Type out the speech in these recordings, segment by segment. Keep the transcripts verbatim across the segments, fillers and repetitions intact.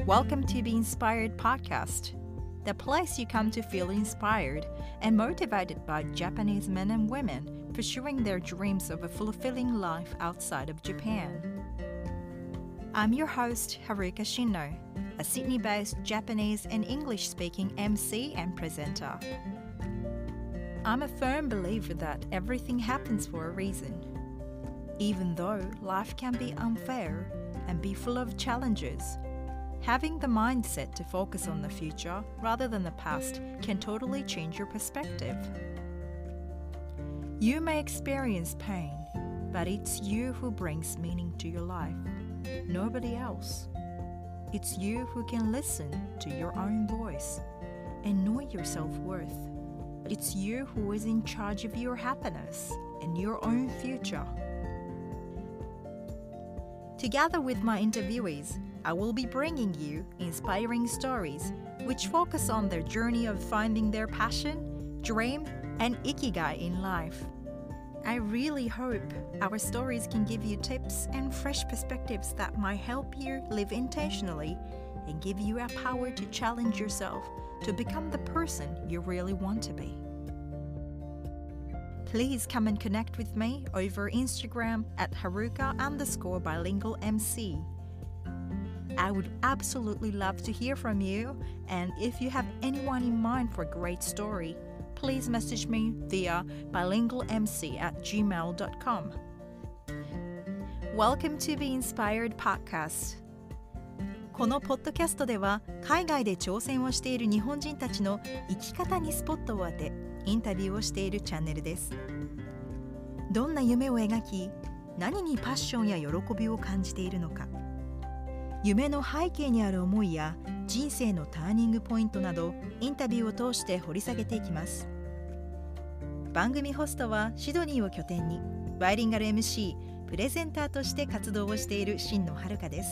Welcome to Be Inspired Podcast, the place you come to feel inspired and motivated by Japanese men and women pursuing their dreams of a fulfilling life outside of Japan. I'm your host, Haruka Shino, a Sydney-based Japanese and English-speaking M C and presenter. I'm a firm believer that everything happens for a reason. Even though life can be unfair and be full of challenges, having the mindset to focus on the future rather than the past can totally change your perspective. You may experience pain, but it's you who brings meaning to your life, nobody else. It's you who can listen to your own voice and know your self-worth. It's you who is in charge of your happiness and your own future. Together with my interviewees, I will be bringing you inspiring stories which focus on their journey of finding their passion, dream, and ikigai in life. I really hope our stories can give you tips and fresh perspectives that might help you live intentionally and give you a power to challenge yourself to become the person you really want to be. Please come and connect with me over Instagram at Haruka underscore bilingual MC. I would absolutely love to hear from you, and if you have anyone in mind for a great story, please message me via bilingualmc at gmail dot com. Welcome to Be Inspired Podcast. このポッドキャストでは海外で挑戦をしている日本人たちの生き方にスポットを当てインタビューをしているチャンネルです。どんな夢を描き、何にパッションや喜びを感じているのか、夢の背景にある思いや人生のターニングポイントなどインタビューを通して掘り下げていきます。番組ホストはシドニーを拠点にバイリンガル エムシー、プレゼンターとして活動をしている新野遥です。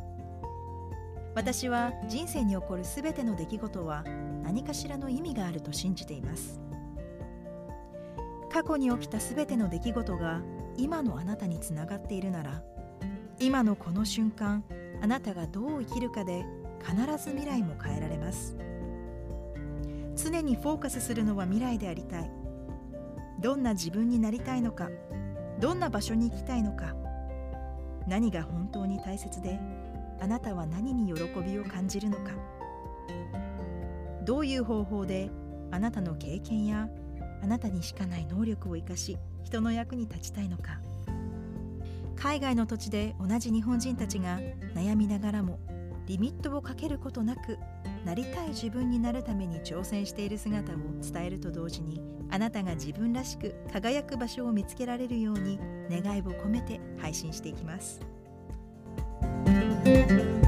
私は人生に起こるすべての出来事は何かしらの意味があると信じています。過去に起きたすべての出来事が今のあなたにつながっているなら、今のこの瞬間、あなたがどう生きるかで必ず未来も変えられます。常にフォーカスするのは未来でありたい。どんな自分になりたいのか、どんな場所に行きたいのか、何が本当に大切で、あなたは何に喜びを感じるのか、どういう方法であなたの経験やあなたにしかない能力を生かし人の役に立ちたいのか。海外の土地で同じ日本人たちが悩みながらもリミットをかけることなくなりたい自分になるために挑戦している姿を伝えると同時に、あなたが自分らしく輝く場所を見つけられるように願いを込めて配信していきます。